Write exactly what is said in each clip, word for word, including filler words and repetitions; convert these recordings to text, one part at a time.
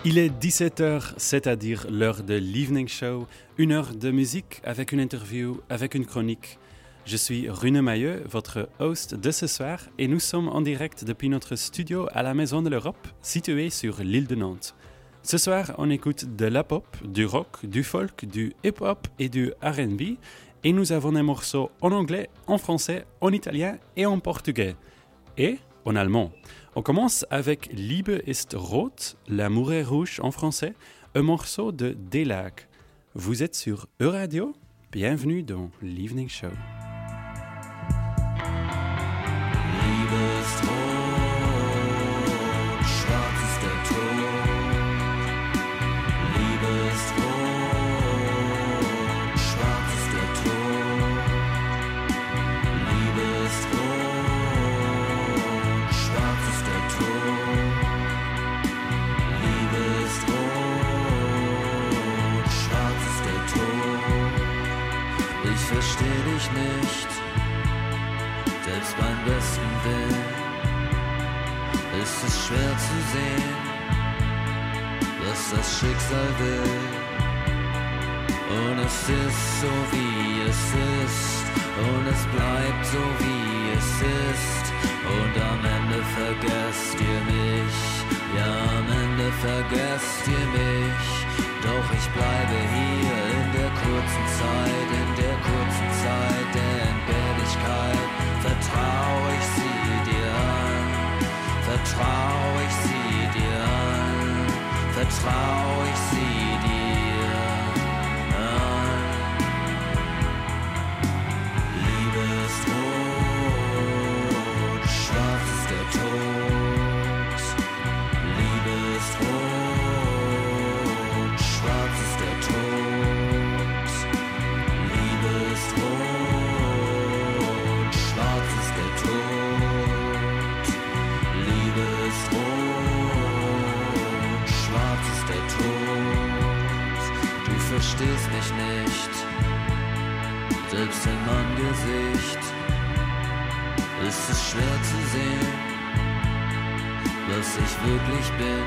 Il est dix-sept heures, c'est-à-dire l'heure de l'Evening Show, une heure de musique avec une interview, avec une chronique. Je suis Rune Mailleux, votre host de ce soir, et nous sommes en direct depuis notre studio à la Maison de l'Europe, située sur l'île de Nantes. Ce soir, on écoute de la pop, du rock, du folk, du hip-hop et du R and B, et nous avons des morceaux en anglais, en français, en italien et en portugais, et en allemand. On commence avec Liebe ist rot, l'amour est rouge en français, un morceau de D-Lag. Vous êtes sur Euradio, bienvenue dans l'Evening Show. Liebe ist rot, schwarz ist der Tod. Liebe ist rot, schwarz ist der Tod. Liebe ist rot, schwarz ist der Tod. Liebe ist rot, schwarz ist der Tod. Ich versteh dich nicht. Selbst beim besten Willen ist es schwer zu sehen, was das Schicksal will. Und es ist so wie es ist, und es bleibt so wie es ist. Und am Ende vergesst ihr mich, ja am Ende vergesst ihr mich. Doch ich bleibe hier in der kurzen Zeit, in der kurzen Zeit der Entbehrlichkeit. Vertrau ich sie dir an, vertrau ich sie dir an, vertrau ich sie dir an. Liebe ist rot, schwarz ist der Tod. Liebe ist rot, schwarz ist der Tod. Liebe ist rot, schwarz ist der Tod. Liebe ist rot, schwarz ist der Tod. Du verstehst mich nicht, selbst in meinem Gesicht ist es schwer zu sehen, was ich wirklich bin.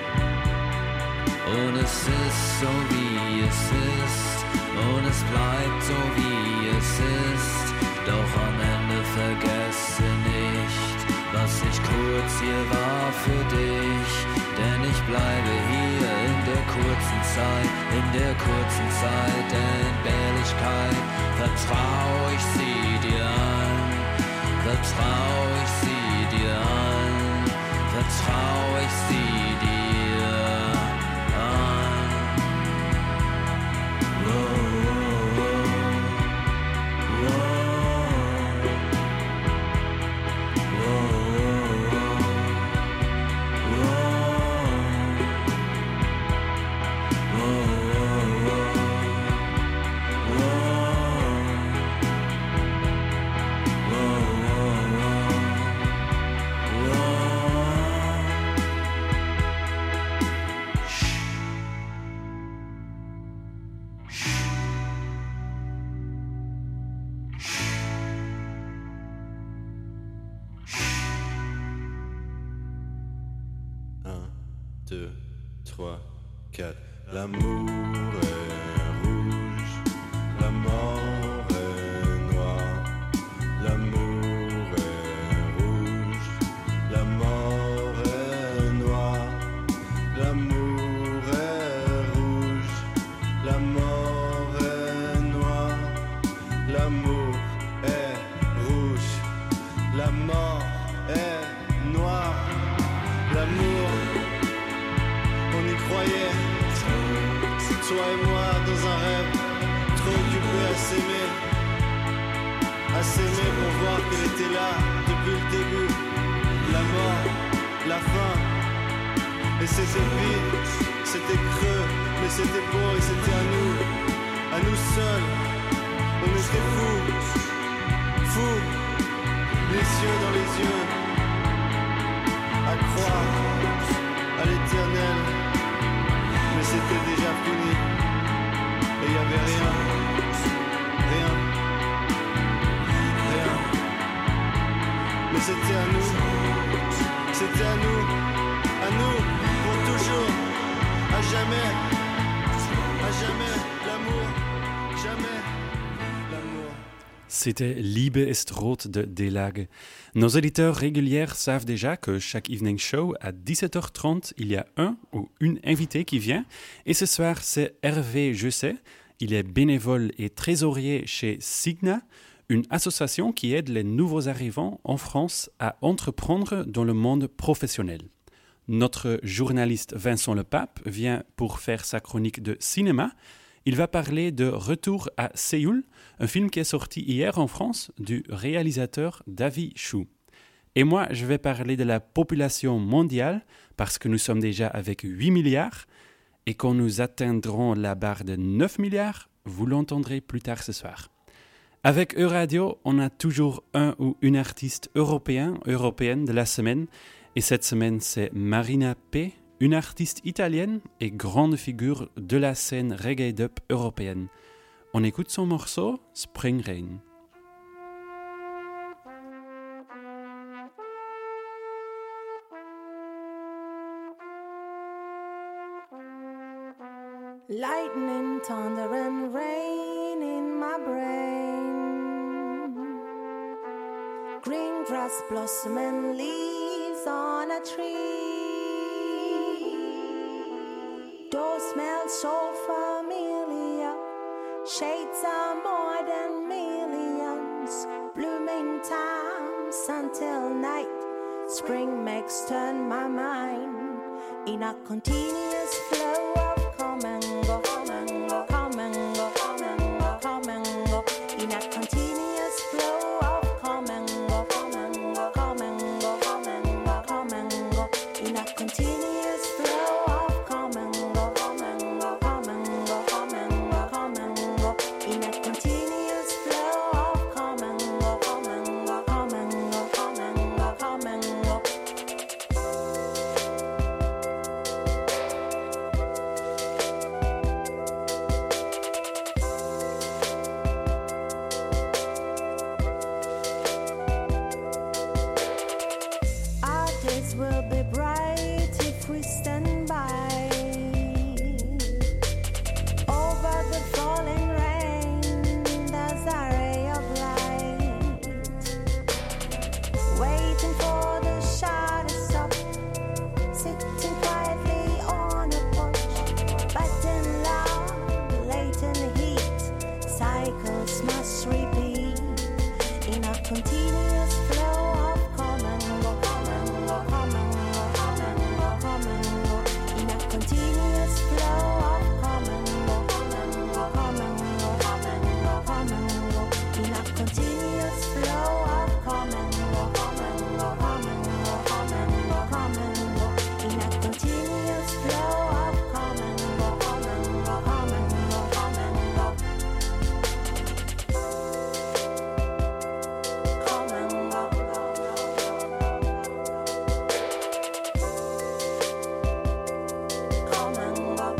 Und es ist so wie es ist, und es bleibt so wie es ist. Doch am Ende vergesse nicht, was ich kurz hier war für dich. Denn ich bleibe hier in der kurzen Zeit, in der kurzen Zeit der Entbehrlichkeit. Vertrau ich sie dir an, vertrau ich sie dir an, vertrau ich sie dir an. Whoa. deux, trois, quatre. L'amour est rouge, la mort est noire. L'amour est rouge, la mort est noire. L'amour est rouge, la mort est noire. L'amour est rouge, la mort est noire. L'amour, on y croyait, toi et moi dans un rêve, trop occupés à s'aimer, à s'aimer pour voir qu'elle était là depuis le début, la mort, la fin, et c'était vide, c'était creux, mais c'était beau et c'était à nous, à nous seuls, on était fous, fous, les yeux dans les yeux, à croire à l'éternel. Mais c'était déjà fini, et y avait rien, rien, rien. Mais c'était à nous, c'était à nous, à nous, pour toujours. à jamais, à jamais, l'amour, jamais, l'amour. C'était Liebe ist rot de Delage. Nos auditeurs réguliers savent déjà que chaque evening show, à dix-sept heures trente, il y a un ou une invitée qui vient. Et ce soir, c'est Hervé Jusset. Il est bénévole et trésorier chez Signa, une association qui aide les nouveaux arrivants en France à entreprendre dans le monde professionnel. Notre journaliste Vincent Lepape vient pour faire sa chronique de cinéma. Il va parler de Retour à Séoul, un film qui est sorti hier en France du réalisateur David Chou. Et moi, je vais parler de la population mondiale parce que nous sommes déjà avec huit milliards et quand nous atteindrons la barre de neuf milliards, vous l'entendrez plus tard ce soir. Avec Euradio, on a toujours un ou une artiste européen, européenne de la semaine et cette semaine, c'est Marina P., une artiste italienne et grande figure de la scène reggae-dub européenne. On écoute son morceau Spring Rain. Lightning, thunder and rain in my brain. Green grass blossom and leaves on a tree. Those smells so familiar. Shades are more than millions. Blooming times until night. Spring makes turn my mind in a continuous flow of come and go, come and go, come and go, come and go, come and go. In a continuous flow of come and go, come and go, come and go, come and go, come and go. In a continuous flow of come and go, come and go, come and go, come and go, come and go. In a continuous flow of come and go, come and go, come and go, come and go, come and go. Our days will be bright if we stand by over the falling rain. There's a ray of light waiting for the shot to stop. Sitting quietly on a porch, but in love, latent heat. Cycles must repeat in a continuous flow of come and go, come and go, come and go, come and go, come and go. In a continuous flow of come and go, come and go, come and go, come and go, come and go. In a continuous flow of come and go, come and go, come and go, come and go, come and go. In a continuous flow of come and go, come and go, come and go, come and go. Come and go. Come and go.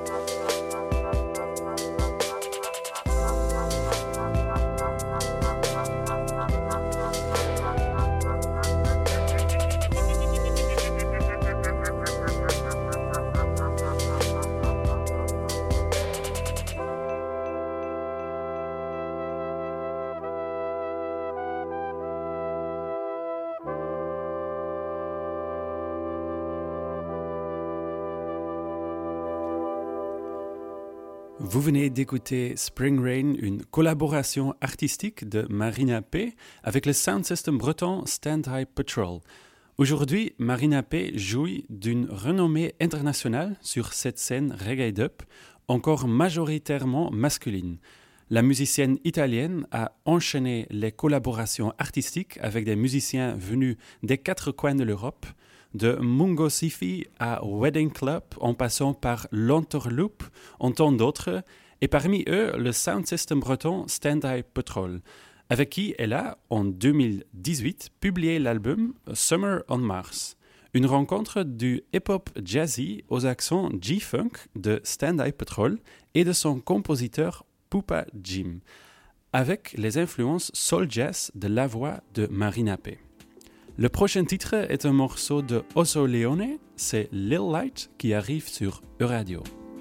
Vous venez d'écouter Spring Rain, une collaboration artistique de Marina P. avec le sound system breton Stand High Patrol. Aujourd'hui, Marina P. jouit d'une renommée internationale sur cette scène reggae-dub, encore majoritairement masculine. La musicienne italienne a enchaîné les collaborations artistiques avec des musiciens venus des quatre coins de l'Europe, de Mungo Sifi à Wedding Club, en passant par l'Enterloop, en tant d'autres, et parmi eux, le sound system breton Stand High Patrol, avec qui elle a, en deux mille dix-huit, publié l'album Summer on Mars, une rencontre du hip-hop jazzy aux accents G-Funk de Stand High Patrol et de son compositeur Pupa Jim, avec les influences soul jazz de la voix de Marina P. Le prochain titre est un morceau de Oso Leone, c'est Lil Light qui arrive sur Euradio.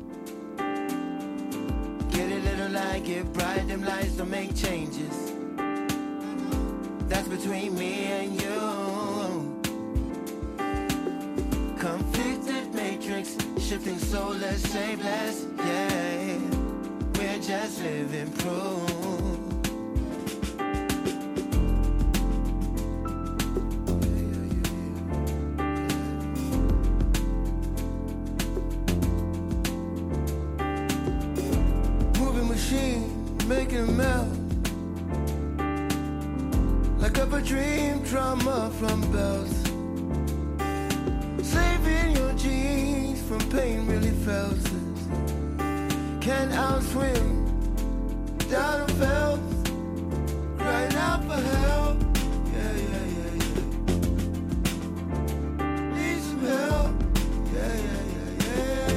Get a little light, get bright, them lights don't make changes. That's between me and you. Conflicted matrix, shifting soulless, shapeless, yeah. We're just living proof. Making a melt like up a dream drama from bells. Saving your genes from pain really felt. Can't outswim down a felt. Crying out for help. Yeah, yeah, yeah, yeah. Need some help. Yeah, yeah, yeah,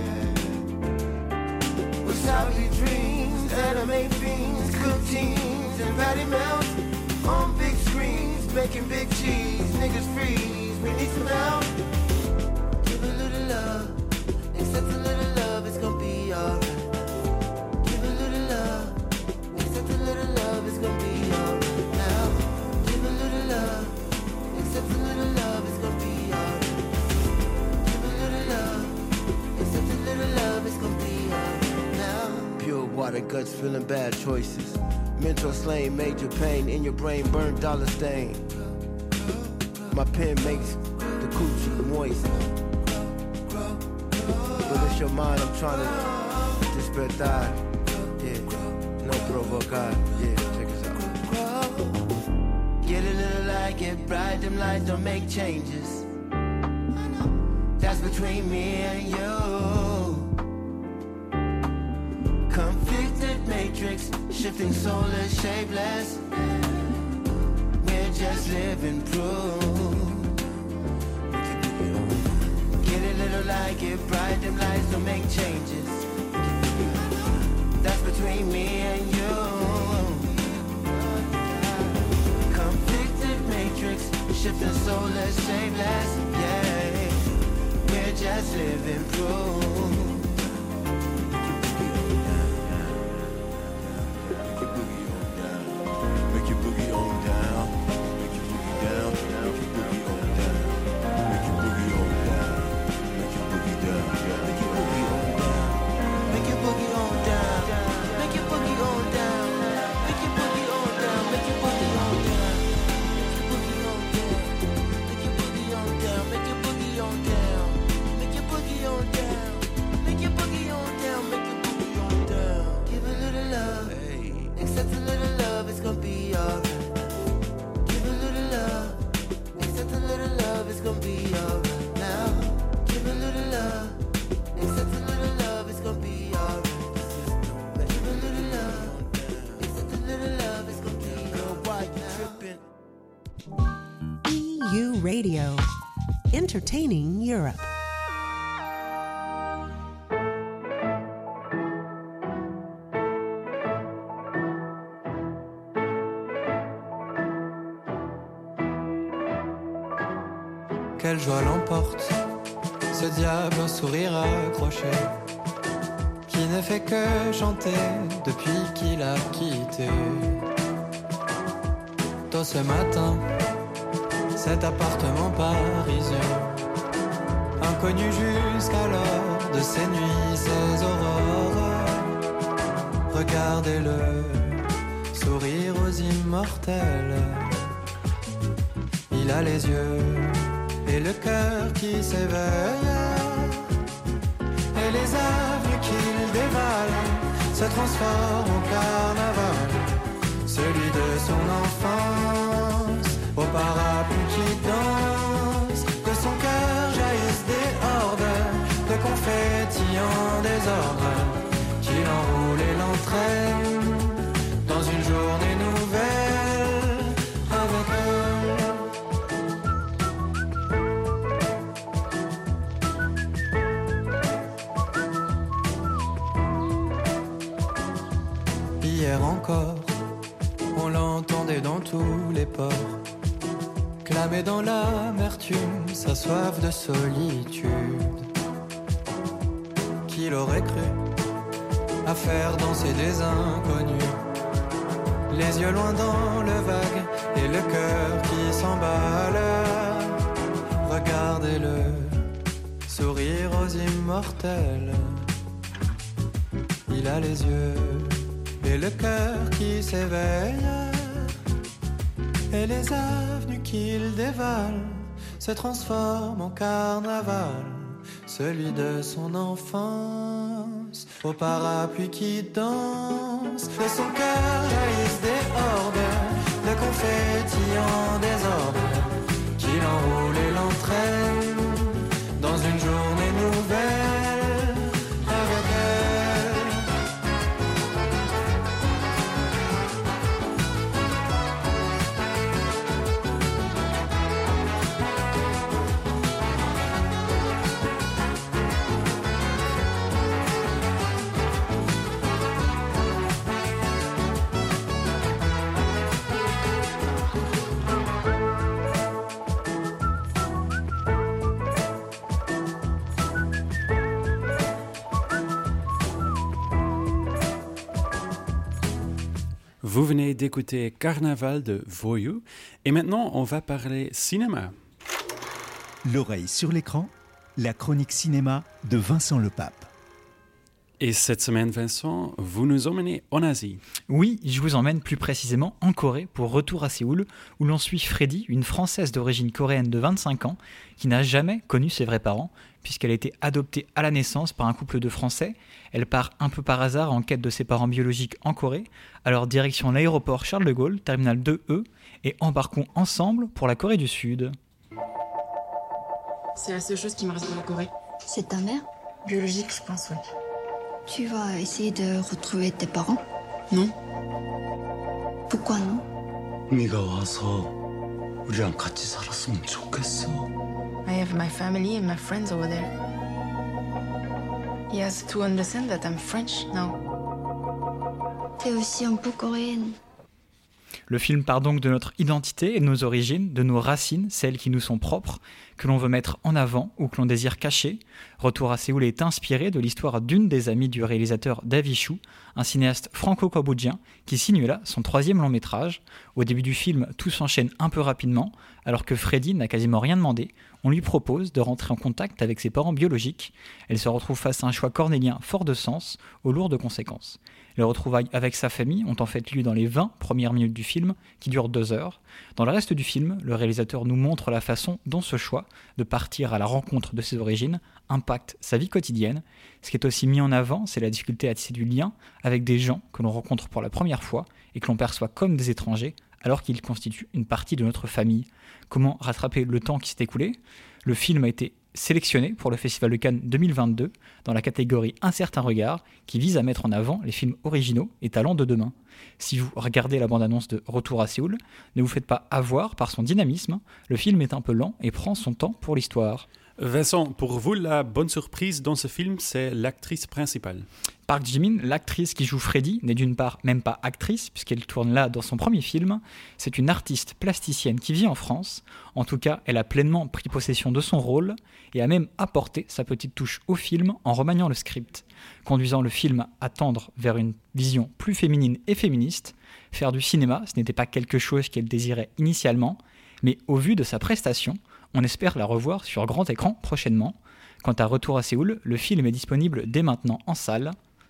yeah. What's how we dream? Anime fiends, cook teams, and patty melts on big screens, making big cheese. Niggas freeze, we need some help. Give a little love, accept a little love, it's gonna be alright. Give a little love, accept a little love, it's gonna be alright. Now, give a little love, accept a little love, it's gonna be alright. Give a little love, accept a little love, it's gonna be alright. Pure water, guts feeling bad choices. Mental slain, major pain in your brain, burnt dollar stain. My pen makes the coochie moist. But it's your mind, I'm trying to despertar. Yeah, no provocar. Yeah, check us out. Get a little light, get bright, them lights don't make changes. That's between me and you. Conflicted matrix, shifting soulless, shapeless. We're just living proof. Get a little light, get bright, them lights don't make changes. That's between me and you. Conflicted matrix, shifting soulless, shapeless. Yeah, we're just living proof. Radio, entertaining Europe. Quelle joie l'emporte, ce diable au sourire accroché, qui ne fait que chanter depuis qu'il a quitté. Tôt ce matin, cet appartement parisien, inconnu jusqu'alors de ses nuits, ses aurores. Regardez-le, sourire aux immortels. Il a les yeux et le cœur qui s'éveille, et les avenues qu'il dévale se transforment en carnaval, celui de son enfance, au parapluie qui danse, de son cœur jaillissent des hordes de confettis en désordre, qui l'enroule et l'entraîne dans une journée nouvelle avec eux. Hier encore, on l'entendait dans tous les ports, met dans l'amertume sa soif de solitude. Qui l'aurait cru à faire danser des inconnus, les yeux loin dans le vague et le cœur qui s'emballe. Regardez-le sourire aux immortels. Il a les yeux et le cœur qui s'éveille, et les avenues qu'il dévale se transforment en carnaval, celui de son enfance, au parapluie qui danse. De son cœur jaillissent des orbes de confetti en désordre, qui l'enroule et l'entraîne dans une journée nouvelle avec elle. Vous venez d'écouter Carnaval de Voyou et maintenant on va parler cinéma. L'oreille sur l'écran, la chronique cinéma de Vincent Lepape. Et cette semaine, Vincent, vous nous emmenez en Asie. Oui, je vous emmène plus précisément en Corée pour Retour à Séoul, où l'on suit Freddy, une Française d'origine coréenne de vingt-cinq ans, qui n'a jamais connu ses vrais parents, puisqu'elle a été adoptée à la naissance par un couple de Français. Elle part un peu par hasard en quête de ses parents biologiques en Corée, alors direction l'aéroport Charles de Gaulle, terminal deux E, et embarquons ensemble pour la Corée du Sud. C'est la seule chose qui me reste dans la Corée. C'est ta mère? Biologique, je pense, oui. Tu vas essayer de retrouver tes parents? Non. Pourquoi non? 네가 와서 우리랑 같이 살았으면 좋겠어. I have my family and my friends over there. He has to understand that I'm French now. T'es aussi un peu coréenne. Le film part donc de notre identité et de nos origines, de nos racines, celles qui nous sont propres, que l'on veut mettre en avant ou que l'on désire cacher. Retour à Séoul est inspiré de l'histoire d'une des amies du réalisateur David Chou, un cinéaste franco-cambodgien qui signe là son troisième long métrage. Au début du film, tout s'enchaîne un peu rapidement, alors que Freddy n'a quasiment rien demandé. On lui propose de rentrer en contact avec ses parents biologiques. Elle se retrouve face à un choix cornélien fort de sens, aux lourdes conséquences. Les retrouvailles avec sa famille ont en fait lieu dans les vingt premières minutes du film, qui durent deux heures. Dans le reste du film, le réalisateur nous montre la façon dont ce choix de partir à la rencontre de ses origines impacte sa vie quotidienne. Ce qui est aussi mis en avant, c'est la difficulté à tisser du lien avec des gens que l'on rencontre pour la première fois et que l'on perçoit comme des étrangers, alors qu'ils constituent une partie de notre famille. Comment rattraper le temps qui s'est écoulé? Le film a été sélectionné pour le Festival de Cannes deux mille vingt-deux dans la catégorie Un certain regard, qui vise à mettre en avant les films originaux et talents de demain. Si vous regardez la bande-annonce de Retour à Séoul, ne vous faites pas avoir par son dynamisme. Le film est un peu lent et prend son temps pour l'histoire. Vincent, pour vous, la bonne surprise dans ce film, c'est l'actrice principale. Park Ji-min, l'actrice qui joue Freddy, n'est d'une part même pas actrice, puisqu'elle tourne là dans son premier film. C'est une artiste plasticienne qui vit en France. En tout cas, elle a pleinement pris possession de son rôle et a même apporté sa petite touche au film en remaniant le script, conduisant le film à tendre vers une vision plus féminine et féministe. Faire du cinéma, ce n'était pas quelque chose qu'elle désirait initialement, mais au vu de sa prestation, on espère la revoir sur grand écran prochainement. Quant à Retour à Séoul, le film est disponible dès maintenant en salle.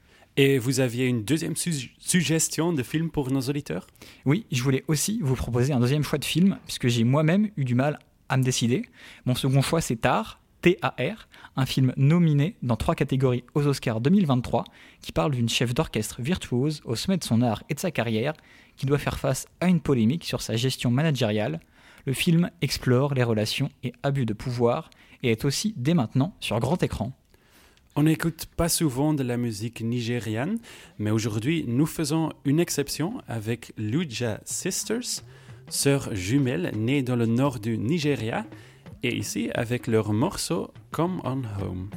Et vous aviez une deuxième su- suggestion de film pour nos auditeurs? Oui, je voulais aussi vous proposer un deuxième choix de film, puisque j'ai moi-même eu du mal à me décider. Mon second choix, c'est Tar, T A R, un film nominé dans trois catégories aux Oscars deux mille vingt-trois, qui parle d'une chef d'orchestre virtuose au sommet de son art et de sa carrière, qui doit faire face à une polémique sur sa gestion managériale. Le film explore les relations et abus de pouvoir et est aussi dès maintenant sur grand écran. On n'écoute pas souvent de la musique nigériane, mais aujourd'hui, nous faisons une exception avec Luja Sisters, sœurs jumelles nées dans le nord du Nigeria, et ici avec leur morceau Come On Home.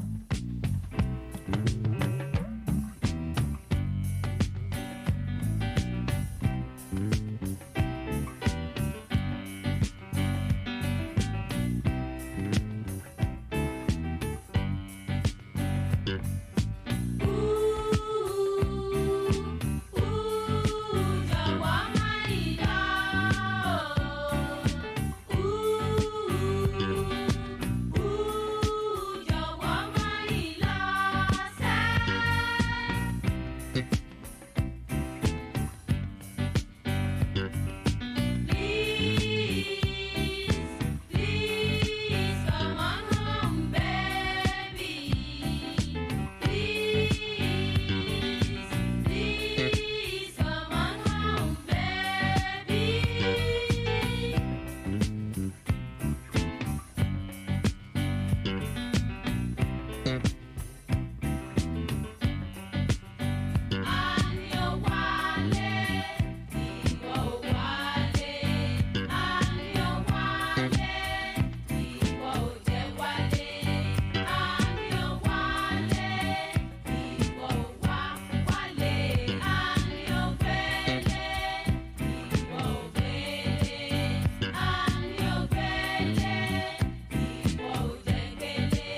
Baby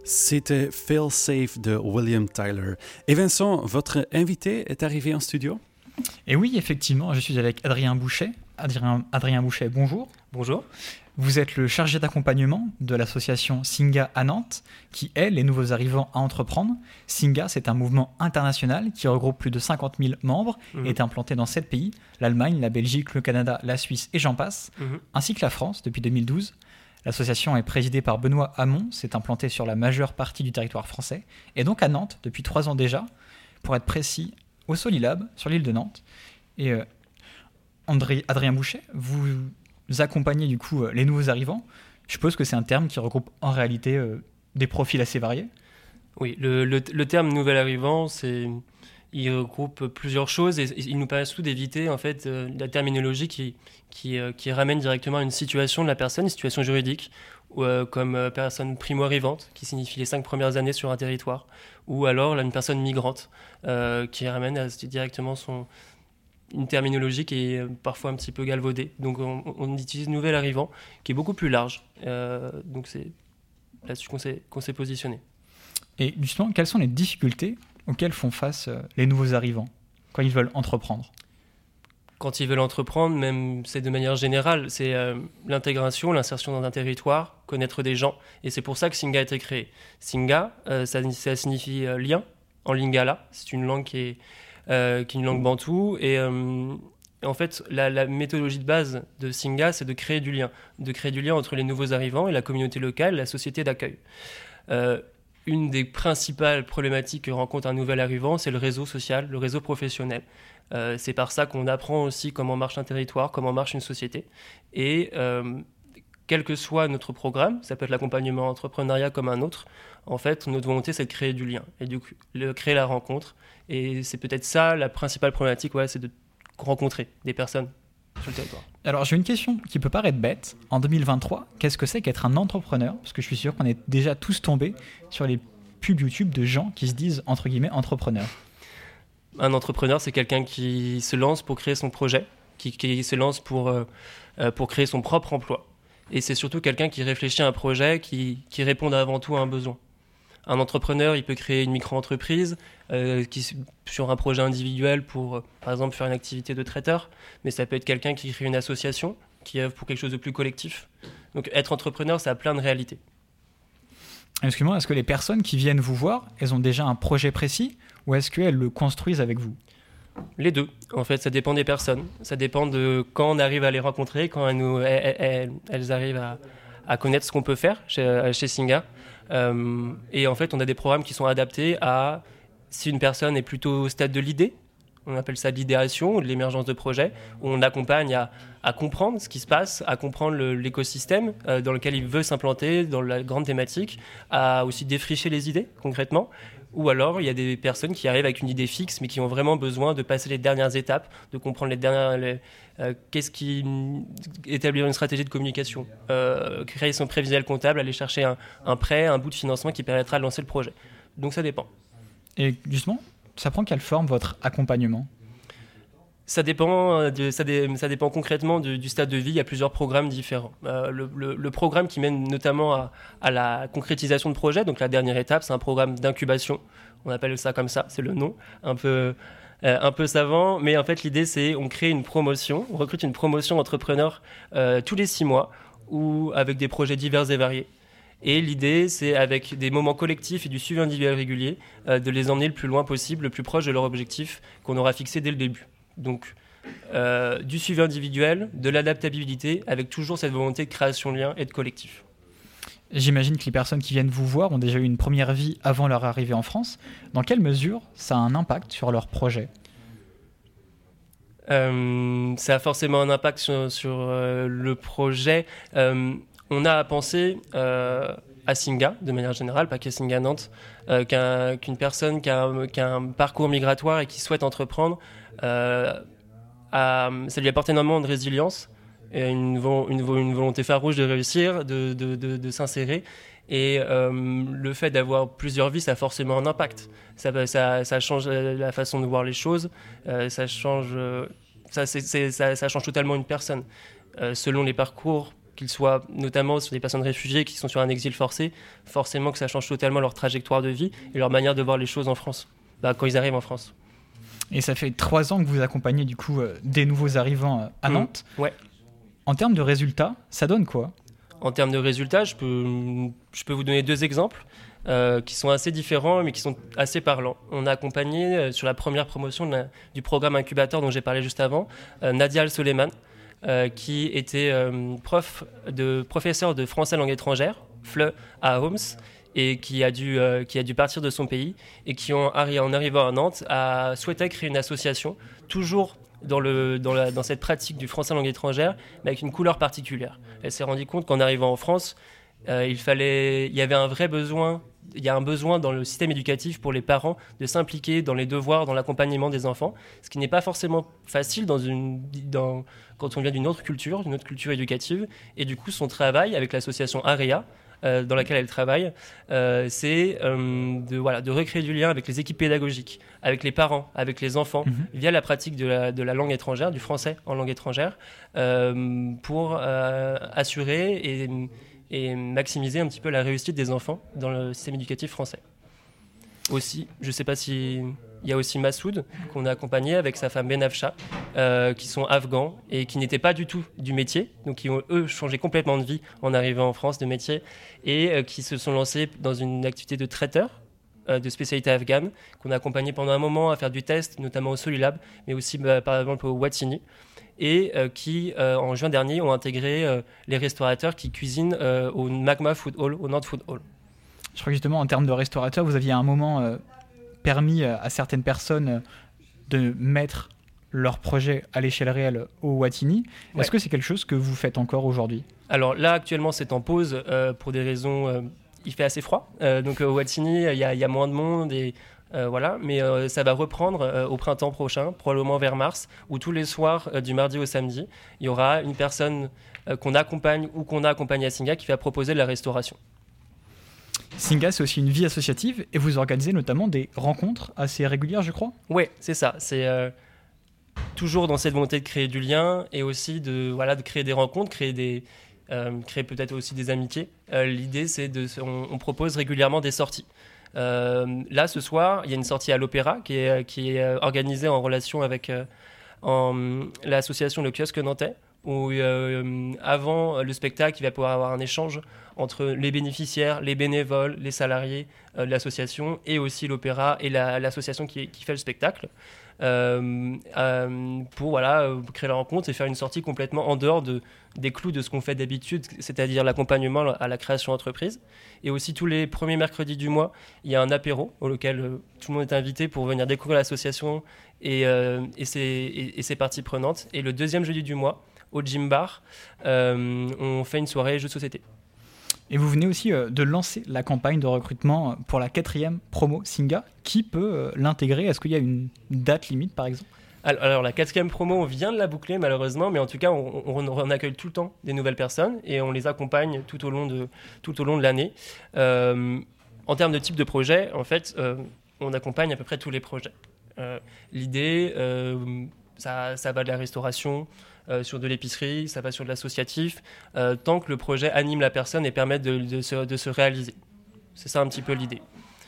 C'était Feel Safe de William Tyler. Et Vincent, votre invité est arrivé en studio? Et oui, effectivement, je suis avec Adrien Bouchet. Adrien, Adrien Bouchet, bonjour. Bonjour. Vous êtes le chargé d'accompagnement de l'association Singa à Nantes, qui aide les nouveaux arrivants à entreprendre. Singa, c'est un mouvement international qui regroupe plus de cinquante mille membres mmh. et est implanté dans sept pays, l'Allemagne, la Belgique, le Canada, la Suisse et j'en passe, mmh. ainsi que la France depuis deux mille douze. L'association est présidée par Benoît Hamon, s'est implantée sur la majeure partie du territoire français, et donc à Nantes depuis trois ans déjà, pour être précis, au Solilab, sur l'île de Nantes. Et euh, André, Adrien Bouchet, vous accompagnez du coup euh, les nouveaux arrivants. Je suppose que c'est un terme qui regroupe en réalité euh, des profils assez variés. Oui, le, le, le terme nouvel arrivant, c'est, il regroupe plusieurs choses et il nous permet surtout d'éviter en fait euh, la terminologie qui, qui, euh, qui ramène directement à une situation de la personne, une situation juridique, ou, euh, comme euh, personne primo-arrivante, qui signifie les cinq premières années sur un territoire, ou alors là, une personne migrante, euh, qui ramène à, directement son, une terminologie qui est parfois un petit peu galvaudée. Donc on, on utilise nouvel arrivant, qui est beaucoup plus large. Euh, donc c'est là-dessus qu'on s'est, qu'on s'est positionné. Et justement, quelles sont les difficultés auxquelles font face euh, les nouveaux arrivants quand ils veulent entreprendre? Quand ils veulent entreprendre, même c'est de manière générale, c'est euh, l'intégration, l'insertion dans un territoire, connaître des gens. Et c'est pour ça que Singa a été créé. Singa, euh, ça, ça signifie euh, lien en lingala. C'est une langue qui est, euh, qui est une langue bantoue. Et euh, en fait, la, la méthodologie de base de Singa, c'est de créer du lien. De créer du lien entre les nouveaux arrivants et la communauté locale, la société d'accueil. Euh, une des principales problématiques que rencontre un nouvel arrivant, c'est le réseau social, le réseau professionnel. Euh, c'est par ça qu'on apprend aussi comment marche un territoire, comment marche une société. Et euh, quel que soit notre programme, ça peut être l'accompagnement entrepreneuriat comme un autre, en fait, notre volonté, c'est de créer du lien et de le, créer la rencontre. Et c'est peut-être ça la principale problématique, ouais, c'est de rencontrer des personnes sur le territoire. Alors, j'ai une question qui peut paraître bête. En deux mille vingt-trois, qu'est-ce que c'est qu'être un entrepreneur? Parce que je suis sûr qu'on est déjà tous tombés sur les pubs YouTube de gens qui se disent, entre guillemets, entrepreneurs. Un entrepreneur, c'est quelqu'un qui se lance pour créer son projet, qui, qui se lance pour, euh, pour créer son propre emploi. Et c'est surtout quelqu'un qui réfléchit à un projet qui, qui répond avant tout à un besoin. Un entrepreneur, il peut créer une micro-entreprise euh, qui, sur un projet individuel pour, euh, par exemple, faire une activité de traiteur. Mais ça peut être quelqu'un qui crée une association, qui œuvre pour quelque chose de plus collectif. Donc être entrepreneur, ça a plein de réalités. Excusez-moi, est-ce que les personnes qui viennent vous voir, elles ont déjà un projet précis ou est-ce qu'elles le construisent avec vous? Les deux. En fait, ça dépend des personnes. Ça dépend de quand on arrive à les rencontrer, quand elles, nous, elles, elles, elles arrivent à, à connaître ce qu'on peut faire chez, chez Singa. Euh, et en fait, on a des programmes qui sont adaptés à si une personne est plutôt au stade de l'idée, on appelle ça de l'idéation ou de l'émergence de projet, où on accompagne à, à comprendre ce qui se passe, à comprendre le, l'écosystème euh, dans lequel il veut s'implanter, dans la grande thématique, à aussi défricher les idées concrètement. Ou alors, il y a des personnes qui arrivent avec une idée fixe, mais qui ont vraiment besoin de passer les dernières étapes, de comprendre les dernières, les, euh, qu'est-ce qui établir une stratégie de communication, euh, créer son prévisionnel comptable, aller chercher un, un prêt, un bout de financement qui permettra de lancer le projet. Donc ça dépend. Et justement, ça prend quelle forme votre accompagnement ? Ça dépend, de, ça, dé, ça dépend concrètement de, du stade de vie. Il y a plusieurs programmes différents. Euh, le, le, le programme qui mène notamment à, à la concrétisation de projets, donc la dernière étape, c'est un programme d'incubation. On appelle ça comme ça, c'est le nom, un peu, euh, un peu savant. Mais en fait, l'idée, c'est on crée une promotion, on recrute une promotion d'entrepreneurs euh, tous les six mois, ou avec des projets divers et variés. Et l'idée, c'est avec des moments collectifs et du suivi individuel régulier, euh, de les emmener le plus loin possible, le plus proche de leur objectif qu'on aura fixé dès le début. Donc, euh, du suivi individuel, de l'adaptabilité, avec toujours cette volonté de création de lien et de collectif. J'imagine que les personnes qui viennent vous voir ont déjà eu une première vie avant leur arrivée en France. Dans quelle mesure ça a un impact sur leur projet ? euh, Ça a forcément un impact sur, sur euh, le projet. Euh, on a à penser euh, à Singa, de manière générale, pas qu'à Singa Nantes, euh, qu'un, qu'une personne qui a, un, qui a un parcours migratoire et qui souhaite entreprendre, Euh, à, ça lui apporte énormément de résilience et une, une, une volonté farouche de réussir, de, de, de, de s'insérer. Et euh, le fait d'avoir plusieurs vies, ça a forcément un impact. Ça, ça, ça change la façon de voir les choses, euh, ça, change, ça, c'est, c'est, ça, ça change totalement une personne. Euh, selon les parcours qu'ils soient notamment sur des personnes réfugiées qui sont sur un exil forcé, forcément que ça change totalement leur trajectoire de vie et leur manière de voir les choses en France, bah, quand ils arrivent en France. Et ça fait trois ans que vous accompagnez du coup euh, des nouveaux arrivants euh, à Nantes. Mmh, ouais. En termes de résultats, ça donne quoi ? En termes de résultats, je peux, je peux vous donner deux exemples euh, qui sont assez différents mais qui sont assez parlants. On a accompagné euh, sur la première promotion de la, du programme incubateur dont j'ai parlé juste avant, euh, Nadia Al-Soleiman, euh, qui était euh, prof de, professeur de français langue étrangère, F L E à Homs, et qui a, dû, euh, qui a dû partir de son pays et qui, en, en arrivant à Nantes, a souhaité créer une association, toujours dans, le, dans, la, dans cette pratique du français langue étrangère, mais avec une couleur particulière. Elle s'est rendue compte qu'en arrivant en France, euh, il, fallait, il y avait un vrai besoin, il y a un besoin dans le système éducatif pour les parents de s'impliquer dans les devoirs, dans l'accompagnement des enfants, ce qui n'est pas forcément facile dans une, dans, quand on vient d'une autre culture, d'une autre culture éducative. Et du coup, son travail avec l'association AREA, Euh, dans laquelle elle travaille, euh, c'est euh, de, voilà, de recréer du lien avec les équipes pédagogiques, avec les parents, avec les enfants, mmh. via la pratique de la, de la langue étrangère, du français en langue étrangère, euh, pour euh, assurer et, et maximiser un petit peu la réussite des enfants dans le système éducatif français. Aussi, je ne sais pas si... Il y a aussi Massoud, qu'on a accompagné avec sa femme Benafcha, euh, qui sont afghans et qui n'étaient pas du tout du métier, donc qui ont, eux, changé complètement de vie en arrivant en France de métier, et euh, qui se sont lancés dans une activité de traiteur, euh, de spécialité afghane, qu'on a accompagné pendant un moment à faire du test, notamment au Solilab, mais aussi bah, par exemple au Watini, et euh, qui, euh, en juin dernier, ont intégré euh, les restaurateurs qui cuisinent euh, au Magma Food Hall, au Nantes Food Hall. Je crois que justement, en termes de restaurateurs, vous aviez à un moment... Euh... permis à certaines personnes de mettre leur projet à l'échelle réelle au Watini. Ouais. Est-ce que c'est quelque chose que vous faites encore aujourd'hui ? Alors là, actuellement, c'est en pause euh, pour des raisons... Euh, il fait assez froid. Euh, donc au Watini, il y, y a moins de monde. Et, euh, voilà. Mais euh, ça va reprendre euh, au printemps prochain, probablement vers mars, où tous les soirs, euh, du mardi au samedi, il y aura une personne euh, qu'on accompagne ou qu'on a accompagnée à Singa qui va proposer de la restauration. Singa, c'est aussi une vie associative et vous organisez notamment des rencontres assez régulières, je crois ? Oui, c'est ça. C'est euh, toujours dans cette volonté de créer du lien et aussi de, voilà, de créer des rencontres, créer, des, euh, créer peut-être aussi des amitiés. Euh, l'idée, c'est de, on, on propose régulièrement des sorties. Euh, là, ce soir, il y a une sortie à l'Opéra qui est, qui est organisée en relation avec euh, en, l'association Le Kiosque Nantais, où euh, avant le spectacle, il va pouvoir avoir un échange entre les bénéficiaires, les bénévoles, les salariés euh, de l'association et aussi l'opéra et la, l'association qui, qui fait le spectacle euh, euh, pour voilà, créer la rencontre et faire une sortie complètement en dehors de, des clous de ce qu'on fait d'habitude, c'est-à-dire l'accompagnement à la création d'entreprise. Et aussi tous les premiers mercredis du mois, il y a un apéro auquel euh, tout le monde est invité pour venir découvrir l'association et, euh, et, ses, et, et ses parties prenantes. Et le deuxième jeudi du mois, au Gym Bar, euh, on fait une soirée jeux de société. Et vous venez aussi euh, de lancer la campagne de recrutement pour la quatrième promo Singa. Qui peut euh, l'intégrer ? Est-ce qu'il y a une date limite, par exemple ? alors, alors, la quatrième promo, on vient de la boucler, malheureusement, mais en tout cas, on, on, on accueille tout le temps des nouvelles personnes et on les accompagne tout au long de, tout au long de l'année. Euh, en termes de type de projet, en fait, euh, on accompagne à peu près tous les projets. Euh, l'idée, euh, ça, ça va de la restauration, Euh, sur de l'épicerie, ça va sur de l'associatif, euh, tant que le projet anime la personne et permet de, de, se, de se réaliser. C'est ça un petit peu l'idée.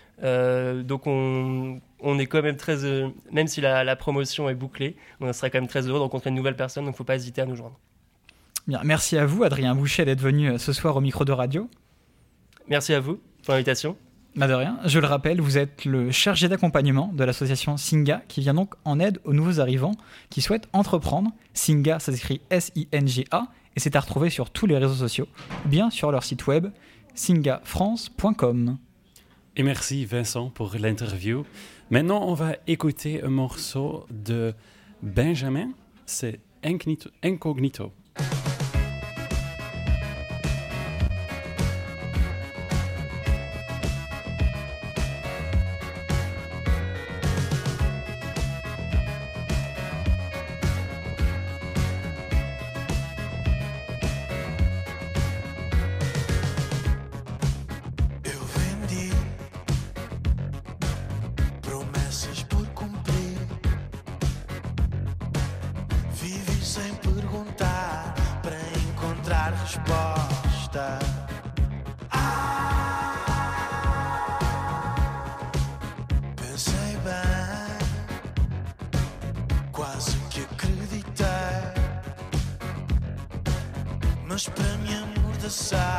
Euh, donc on, on est quand même très... Euh, même si la, la promotion est bouclée, on serait quand même très heureux de rencontrer une nouvelle personne, donc il ne faut pas hésiter à nous joindre. Bien, merci à vous, Adrien Bouchet, d'être venu ce soir au micro de radio. Merci à vous pour l'invitation. Bah de rien. Je le rappelle, vous êtes le chargé d'accompagnement de l'association Singa qui vient donc en aide aux nouveaux arrivants qui souhaitent entreprendre. Singa, ça s'écrit S I N G A et c'est à retrouver sur tous les réseaux sociaux ou bien sur leur site web singa france point com. Et merci Vincent pour l'interview. Maintenant, on va écouter un morceau de Benjamin, c'est Incognito. Incognito. Sem perguntar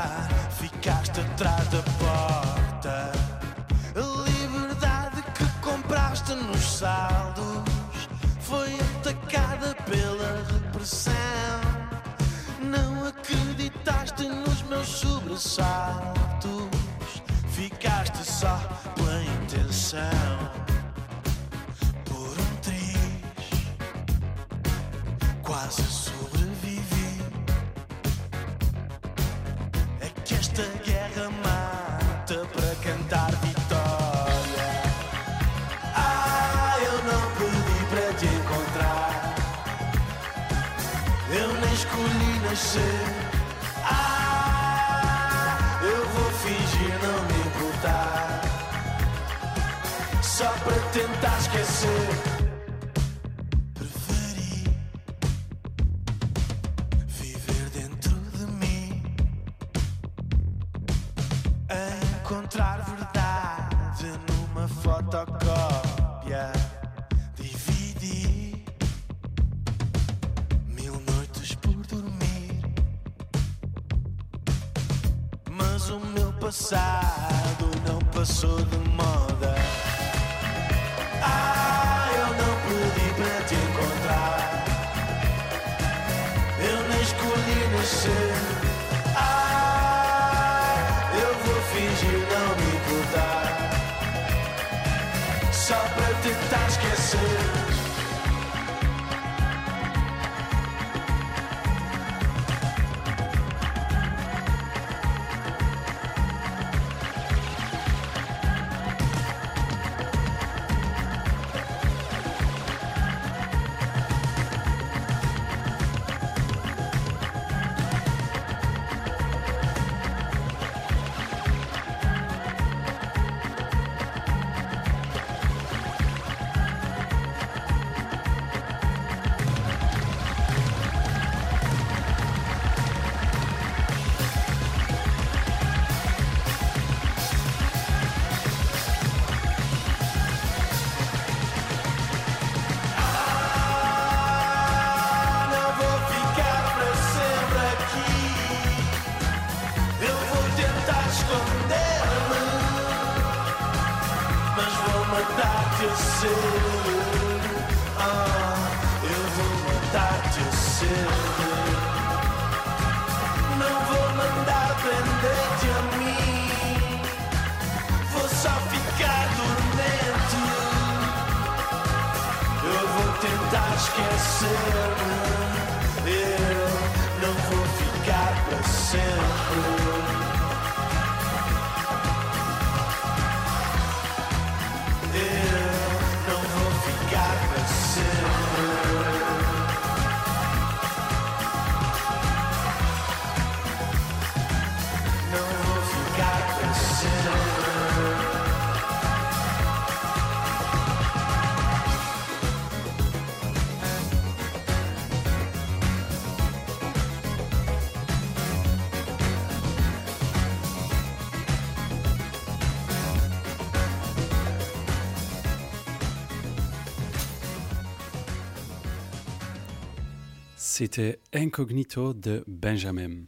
pensar, ficaste atrás da porta. A liberdade que compraste nos saldos foi atacada pela repressão. Não acreditaste nos meus sobressaltos, ficaste só pela intenção. Por um triz, quase sobrevivi. É que esta guerra mata para cantar vitória. Ah, eu não pedi para te encontrar, eu nem escolhi nascer. Ah, eu vou fingir não me importar, só para tentar esquecer. Preferi viver dentro de mim, encontrar verdade numa fotocópia. Dividi mil noites por dormir, mas o meu passado não passou de moda. Ah, eu não pedi para te encontrar, eu nem escolhi nascer. Ah, eu vou fingir não me importar, só para tentar esquecer. C'était Incognito de Benjamin.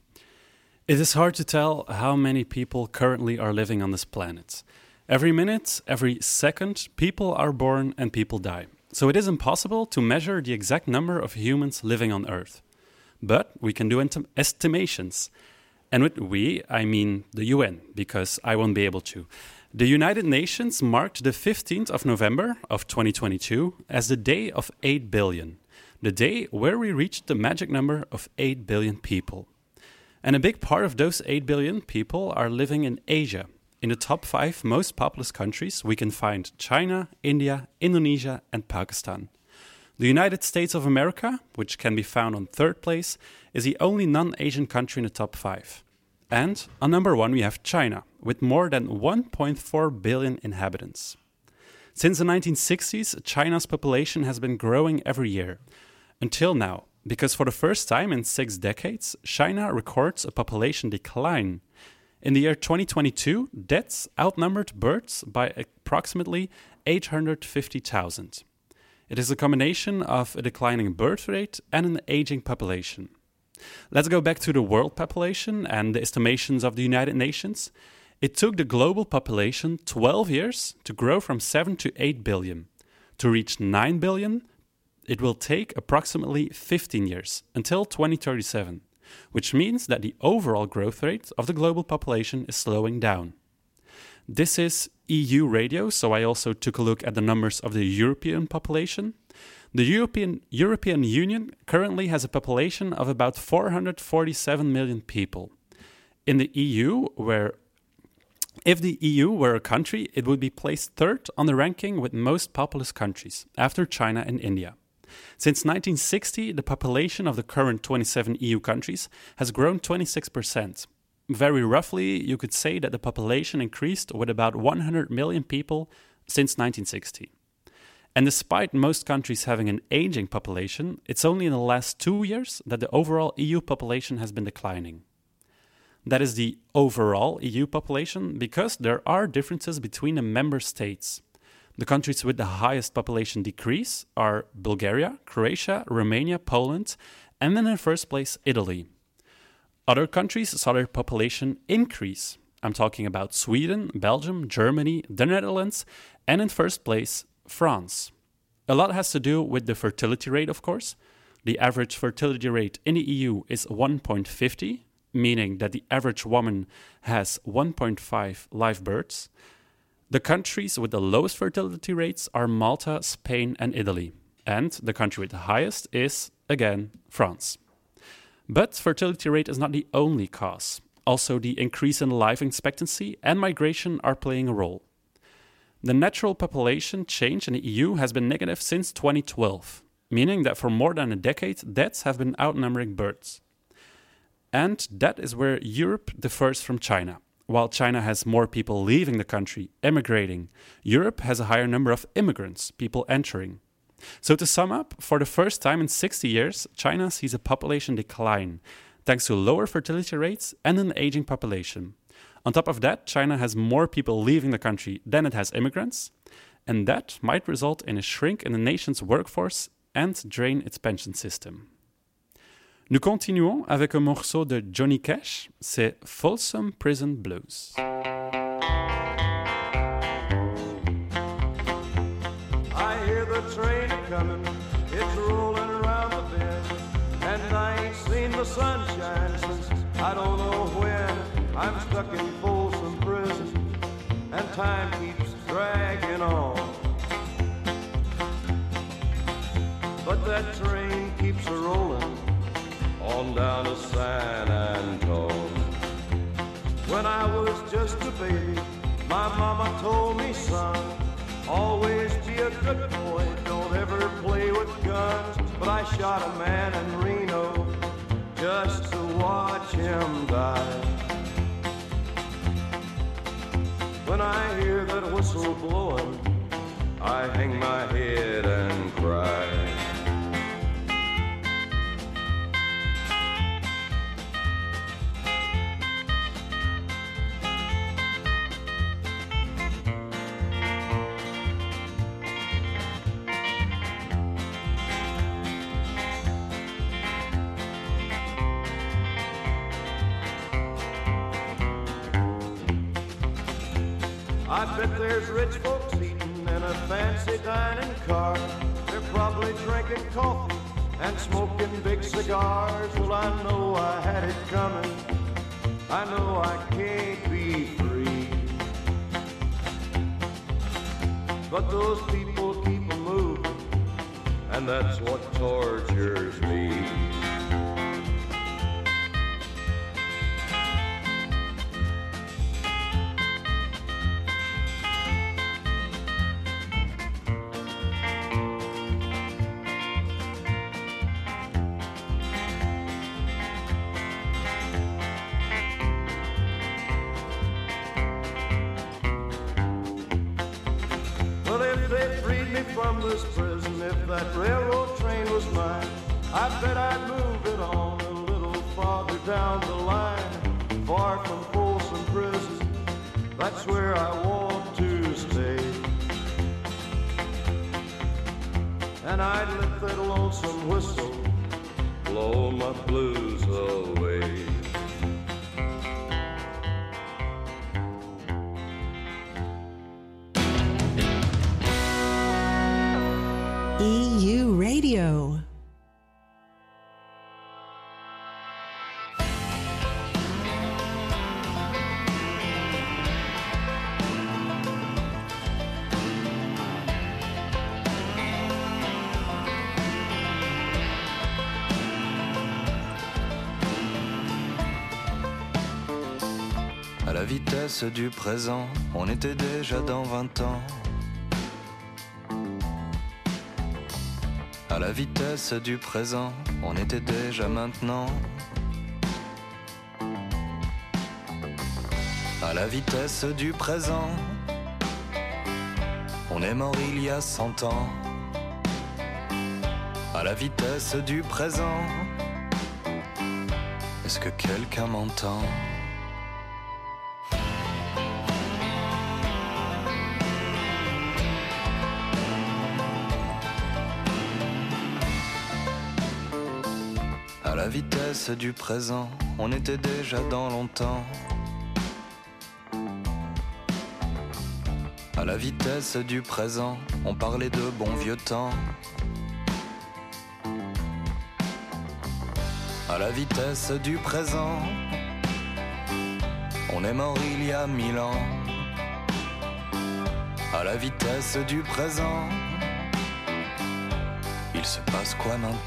It is hard to tell how many people currently are living on this planet. Every minute, every second, people are born and people die. So it is impossible to measure the exact number of humans living on Earth. But we can do ent- estimations. And with we, I mean the U N, because I won't be able to. The United Nations marked the fifteenth of November of twenty twenty-two as the day of eight billion. The day where we reached the magic number of eight billion people. And a big part of those eight billion people are living in Asia. In the top five most populous countries, we can find China, India, Indonesia, and Pakistan. The United States of America, which can be found on third place, is the only non-Asian country in the top five. And on number one, we have China, with more than one point four billion inhabitants. Since the nineteen sixties, China's population has been growing every year. Until now, because for the first time in six decades, China records a population decline. In the year twenty twenty-two, deaths outnumbered births by approximately eight hundred fifty thousand. It is a combination of a declining birth rate and an aging population. Let's go back to the world population and the estimations of the United Nations. It took the global population twelve years to grow from seven to eight billion. To reach nine billion, it will take approximately fifteen years, until twenty thirty-seven, which means that the overall growth rate of the global population is slowing down. This is E U radio, so I also took a look at the numbers of the European population. The European, European Union currently has a population of about four hundred forty-seven million people. In the E U, where if the E U were a country, it would be placed third on the ranking with most populous countries, after China and India. Since nineteen sixty, the population of the current twenty-seven E U countries has grown twenty-six percent. Very roughly, you could say that the population increased with about one hundred million people since nineteen sixty. And despite most countries having an aging population, it's only in the last two years that the overall E U population has been declining. That is the overall E U population because there are differences between the member states. The countries with the highest population decrease are Bulgaria, Croatia, Romania, Poland, and then in first place, Italy. Other countries saw their population increase. I'm talking about Sweden, Belgium, Germany, the Netherlands, and in first place, France. A lot has to do with the fertility rate, of course. The average fertility rate in the E U is one point five zero, meaning that the average woman has one point five live births. The countries with the lowest fertility rates are Malta, Spain, and Italy. And the country with the highest is, again, France. But fertility rate is not the only cause. Also, the increase in life expectancy and migration are playing a role. The natural population change in the E U has been negative since twenty twelve, meaning that for more than a decade, deaths have been outnumbering births. And that is where Europe differs from China. While China has more people leaving the country, emigrating, Europe has a higher number of immigrants, people entering. So to sum up, for the first time in sixty years, China sees a population decline, thanks to lower fertility rates and an aging population. On top of that, China has more people leaving the country than it has immigrants, and that might result in a shrink in the nation's workforce and drain its pension system. Nous continuons avec un morceau de Johnny Cash, c'est Folsom Prison Blues. I hear the train coming, it's rolling around the bend, and I ain't seen the sunshine since I don't know when. I'm stuck in Folsom Prison, and time keeps dragging on. But that train keeps a rolling on down to San Antone. When I was just a baby, my mama told me, son, always be a good boy, don't ever play with guns. But I shot a man in Reno just to watch him die. When I hear that whistle blowing, I hang my head and cry. I bet there's rich folks eating in a fancy dining car. They're probably drinking coffee and smoking big cigars. Well, I know I had it coming. I know I can't be free. But those people keep a moving, and that's what tortures me. From this prison, if that railroad train was mine, I bet I'd move it on a little farther down the line, far from Folsom Prison. That's where I want to stay. And I'd let that lonesome whistle blow my blues go away. E U Radio. À la vitesse du présent, on était déjà dans vingt ans. À la vitesse du présent, on était déjà maintenant. À la vitesse du présent, on est mort il y a cent ans. À la vitesse du présent, est-ce que quelqu'un m'entend ? À la vitesse du présent, on était déjà dans longtemps. À la vitesse du présent, on parlait de bons vieux temps. À la vitesse du présent, on est mort il y a mille ans. À la vitesse du présent, il se passe quoi maintenant ?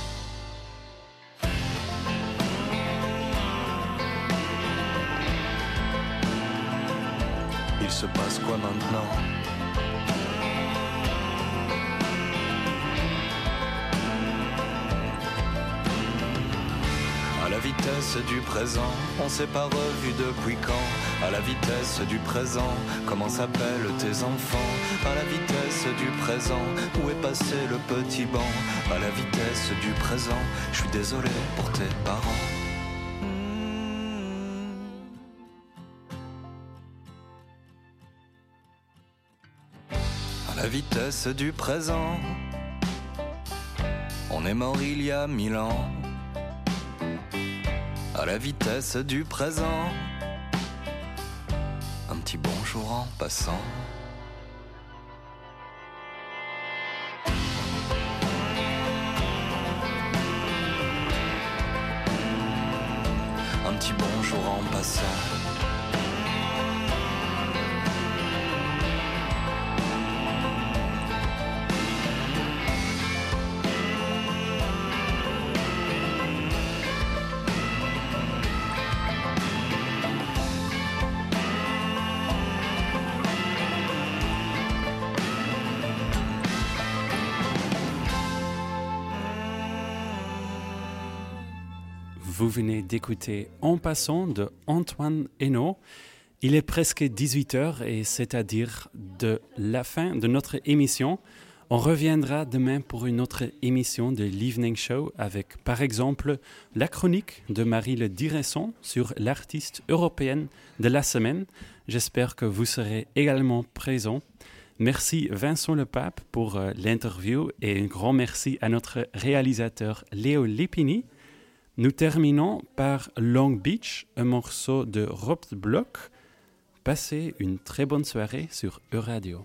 Il se passe quoi maintenant ? À la vitesse du présent, on s'est pas revu depuis quand ? À la vitesse du présent, comment s'appellent tes enfants ? À la vitesse du présent, où est passé le petit banc ? À la vitesse du présent, je suis désolé pour tes parents. À la vitesse du présent, on est mort il y a mille ans. À la vitesse du présent, un petit bonjour en passant. Un petit bonjour en passant. Vous venez d'écouter En passant de Antoine Hainaut. Il est presque dix-huit heures et c'est-à-dire de la fin de notre émission. On reviendra demain pour une autre émission de l'Evening Show avec par exemple la chronique de Marie Le Direcson sur l'artiste européenne de la semaine. J'espère que vous serez également présents. Merci Vincent Le Pape pour euh, l'interview et un grand merci à notre réalisateur Léo Lépini. Nous terminons par Long Beach, un morceau de Rob Block. Passez une très bonne soirée sur Euradio.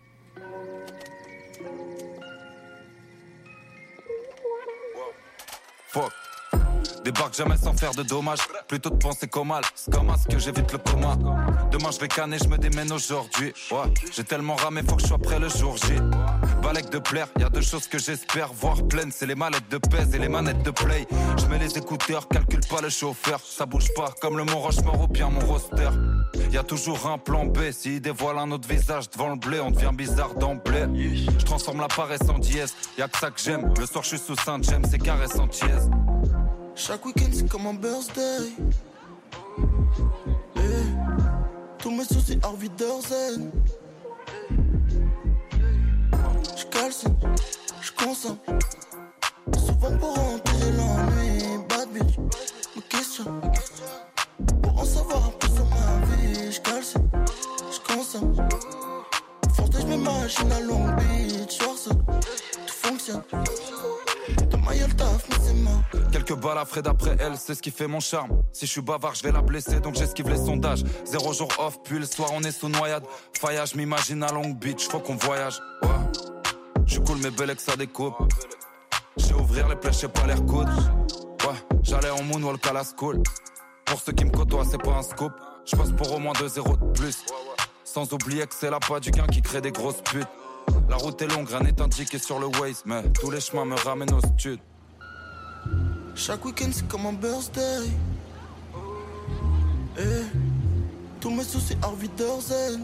Fuck. Débarque jamais sans faire de dommages. Plutôt de penser qu'au mal. C'est comme à ce que j'évite le coma. Demain je vais canner, je me démène aujourd'hui. Ouais, j'ai tellement ramé, faut que je sois prêt le jour J. Balèque de plaire, y'a deux choses que j'espère voir pleines. C'est les mallettes de pèse et les manettes de play. Je mets les écouteurs, calcule pas le chauffeur. Ça bouge pas comme le Mont Rochemort ou bien mon roster. Y'a toujours un plan B. S'il dévoile un autre visage devant le blé, on devient bizarre d'emblée. Je transforme la paresse en dièse. Y'a que ça que j'aime. Le soir je suis sous Saint-James, c'est caresse en tièse. Chaque week-end c'est comme un birthday. Eh, tous mes soucis Harvey Derzen. J'calcine, j'consomme. Souvent pour enterrer l'ennui. Bad bitch, me questionne. Pour en savoir un peu sur ma vie. J'calcine, j'consomme. Forte j'm'imagine à Long Beach. Soir seul, tout fonctionne. Demain y'a le taf, mais c'est mort. Quelques balles à Fred après elle, c'est ce qui fait mon charme. Si je suis bavard, je vais la blesser, donc j'esquive les sondages. Zéro jour off, puis le soir on est sous noyade. Faillage, je m'imagine à Long Beach, faut qu'on voyage. Ouais, je suis cool mais belle que ça découpe. J'ai ouvrir les plaies, j'ai pas l'air coude. Ouais, j'allais en moonwalk à la school. Pour ceux qui me côtoient, c'est pas un scoop. Je passe pour au moins deux zéros de plus. Sans oublier que c'est la pas du gain qui crée des grosses putes. La route est longue, rien n'est indiqué sur le Waze, mais tous les chemins me ramènent au stud. Chaque week-end c'est comme un birthday. Eh, tous mes soucis Harvey Dorzen.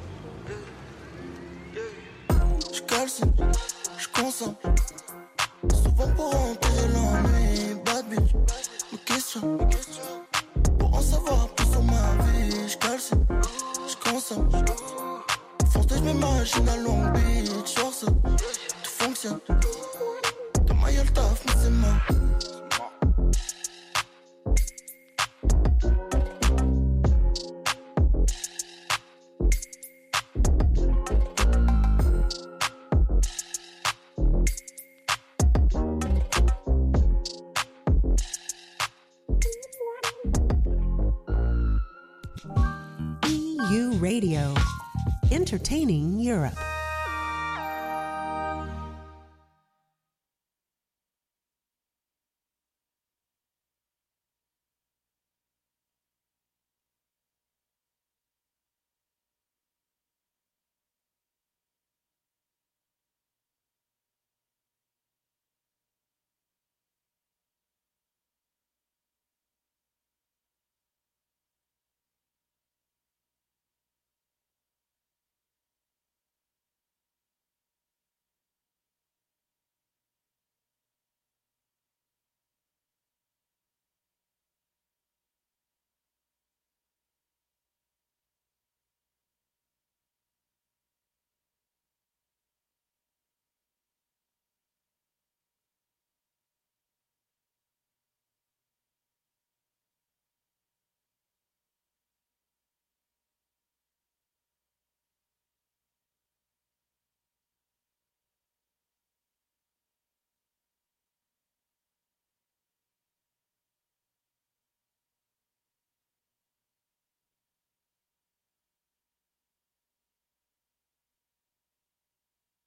J'calcine, j'consomme. Souvent pour empirer l'ennui. Bad bitch, me questionne. Pour en savoir plus sur ma vie. J'calcine, j'consomme. Foncé, j'm'imagine à Long Beach. Genre ça, tout fonctionne. Demain y'a le taf, mais c'est mort. E U Radio, entertaining Europe.